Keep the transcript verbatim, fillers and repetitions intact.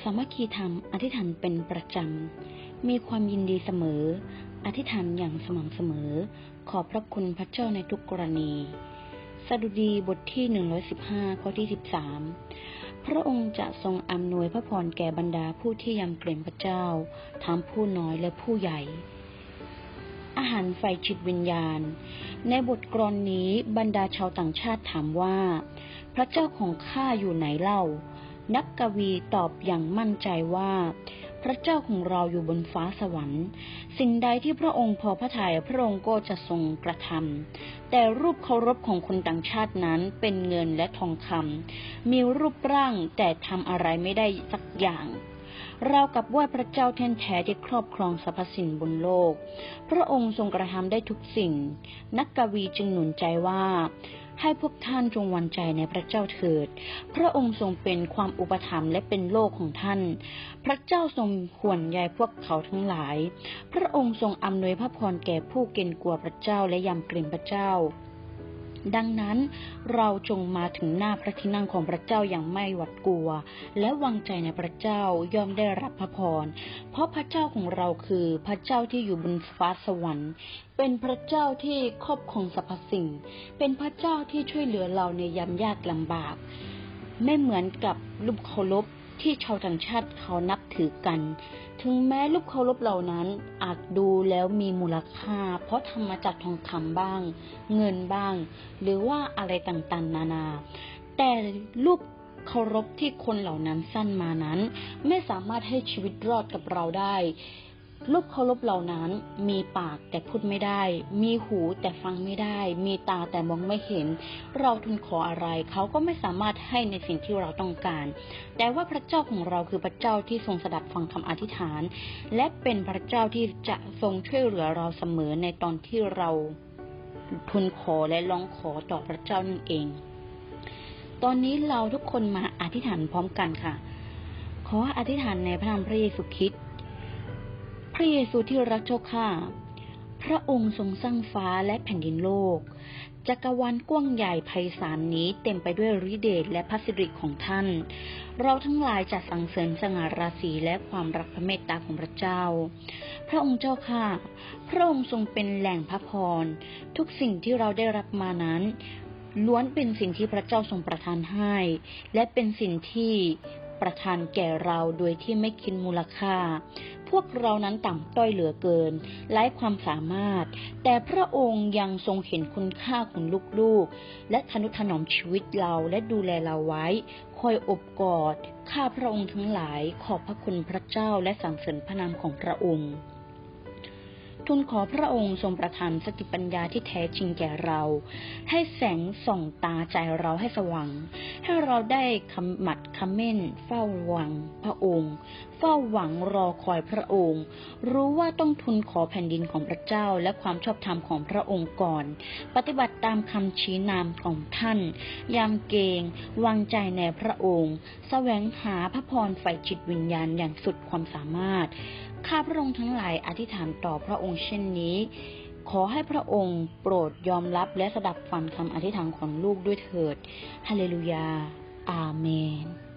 สามัคคีธรรมอธิษฐานเป็นประจำมีความยินดีเสมออธิษฐานอย่างสม่ำเสมอขอบพระคุณพระเจ้าในทุกกรณีสดุดีบทที่หนึ่งร้อยสิบห้าข้อที่สิบสามพระองค์จะทรงอำนวยพระพรแก่บรรดาผู้ที่ยำเกรงพระเจ้าทั้งผู้น้อยและผู้ใหญ่อาหารไฟจิตวิญญาณในบทกลอนนี้บรรดาชาวต่างชาติถามว่าพระเจ้าของข้าอยู่ไหนเล่านักกวีตอบอย่างมั่นใจว่าพระเจ้าของเราอยู่บนฟ้าสวรรค์สิ่งใดที่พระองค์พอพระทัยพระองค์ก็จะทรงกระทำแต่รูปเคารพของคนต่างชาตินั้นเป็นเงินและทองคำมีรูปร่างแต่ทำอะไรไม่ได้สักอย่างเรากับว่าพระเจ้าแท้แท้ที่ครอบครองสรรพสิ่งบนโลกพระองค์ทรงกระทำได้ทุกสิ่งนักกวีจึงหนุนใจว่าให้พวกท่านจงหวั่นใจในพระเจ้าเถิดพระองค์ทรงเป็นความอุปถัมภ์และเป็นโลกของท่านพระเจ้าทรงห่วงใยพวกเขาทั้งหลายพระองค์ทรงอำนวยพระพรแก่ผู้เกรงกลัวพระเจ้าและยำเกรงพระเจ้าดังนั้นเราจงมาถึงหน้าพระที่นั่งของพระเจ้าอย่างไม่หวาดกลัวและวางใจในพระเจ้าย่อมได้รับพระพรเพราะพระเจ้าของเราคือพระเจ้าที่อยู่บนฟ้าสวรรค์เป็นพระเจ้าที่ครอบครองสรรพสิ่งเป็นพระเจ้าที่ช่วยเหลือเราในยามยากลำบากไม่เหมือนกับรูปเคารพที่ชาวต่างชาติเขานับถือกันถึงแม้รูปเคารพเหล่านั้นอาจดูแล้วมีมูลค่าเพราะทำมาจากทองคำบ้างเงินบ้างหรือว่าอะไรต่างๆนานาแต่รูปเคารพที่คนเหล่านั้นสร้างมานั้นไม่สามารถให้ชีวิตรอดกับเราได้รูปเคารพเหล่านั้นมีปากแต่พูดไม่ได้มีหูแต่ฟังไม่ได้มีตาแต่มองไม่เห็นเราทูลขออะไรเขาก็ไม่สามารถให้ในสิ่งที่เราต้องการแต่ว่าพระเจ้าของเราคือพระเจ้าที่ทรงสดับฟังคำอธิษฐานและเป็นพระเจ้าที่จะทรงช่วยเหลือเราเสมอในตอนที่เราทูลขอและร้องขอต่อพระเจ้านั่นเองตอนนี้เราทุกคนมาอธิษฐานพร้อมกันค่ะขออธิษฐานในพระนามพระเยซูคริสต์พระเยซูที่รักเจ้าข้าพระองค์ทรงสร้างฟ้าและแผ่นดินโลกจักรวาลกว้างใหญ่ไพศาลนี้เต็มไปด้วยฤทธิเดชและพระสิริของท่านเราทั้งหลายจะสรรเสริญสง่าราศีและความรักพระเมตตาของพระเจ้าพระองค์เจ้าข้าพระองค์ทรงเป็นแหล่งพระพรทุกสิ่งที่เราได้รับมานั้นล้วนเป็นสิ่งที่พระเจ้าทรงประทานให้และเป็นสิ่งที่ประทานแก่เราโดยที่ไม่คิดมูลค่าพวกเรานั้นต่ำต้อยเหลือเกินไร้ความสามารถแต่พระองค์ยังทรงเห็นคุณค่าของลูกๆและทนุถนอมชีวิตเราและดูแลเราไว้คอยอบกอดข้าพระองค์ทั้งหลายขอบพระคุณพระเจ้าและสรรเสริญพระนามของพระองค์ทูลขอพระองค์ทรงประทานสติปัญญาที่แท้จริงแก่เราให้แสงส่องตาใจเราให้สว่างให้เราได้ขมัดเขม้นเฝ้าหวังพระองค์เฝ้าหวังรอคอยพระองค์รู้ว่าต้องทูลขอแผ่นดินของพระเจ้าและความชอบธรรมของพระองค์ก่อนปฏิบัติตามคำชี้นำของท่านยำเกรงวางใจในพระองค์แสวงหาพระพรฝ่ายจิตวิญญาณอย่างสุดความสามารถข้าพระองค์ทั้งหลายอธิษฐานต่อพระองค์เช่นนี้ขอให้พระองค์โปรดยอมรับและสดับฟังคำอธิษฐานของลูกด้วยเถิดฮาเลลูยาอาเมน